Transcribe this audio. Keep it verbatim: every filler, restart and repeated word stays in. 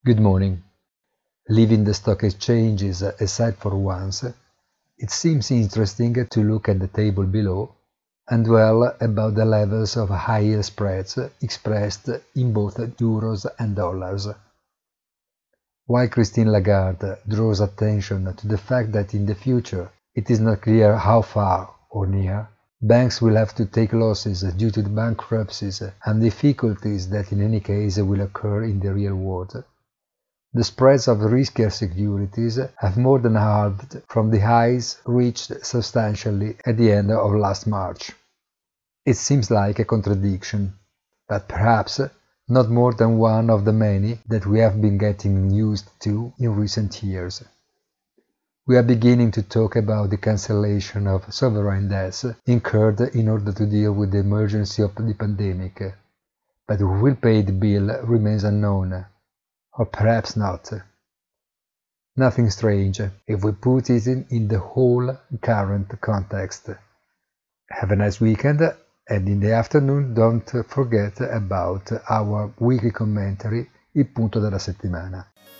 Good morning. Leaving the stock exchanges aside for once, it seems interesting to look at the table below and dwell about the levels of higher spreads expressed in both euros and dollars. While Christine Lagarde draws attention to the fact that in the future it is not clear how far or near, banks will have to take losses due to the bankruptcies and difficulties that in any case will occur in the real world, the spreads of riskier securities have more than halved from the highs reached substantially at the end of last March. It seems like a contradiction, but perhaps not more than one of the many that we have been getting used to in recent years. We are beginning to talk about the cancellation of sovereign debts incurred in order to deal with the emergency of the pandemic, but who will pay the bill remains unknown. Or perhaps not. Nothing strange if we put it in, in the whole current context. Have a nice weekend, and in the afternoon don't forget about our weekly commentary, Il punto della settimana.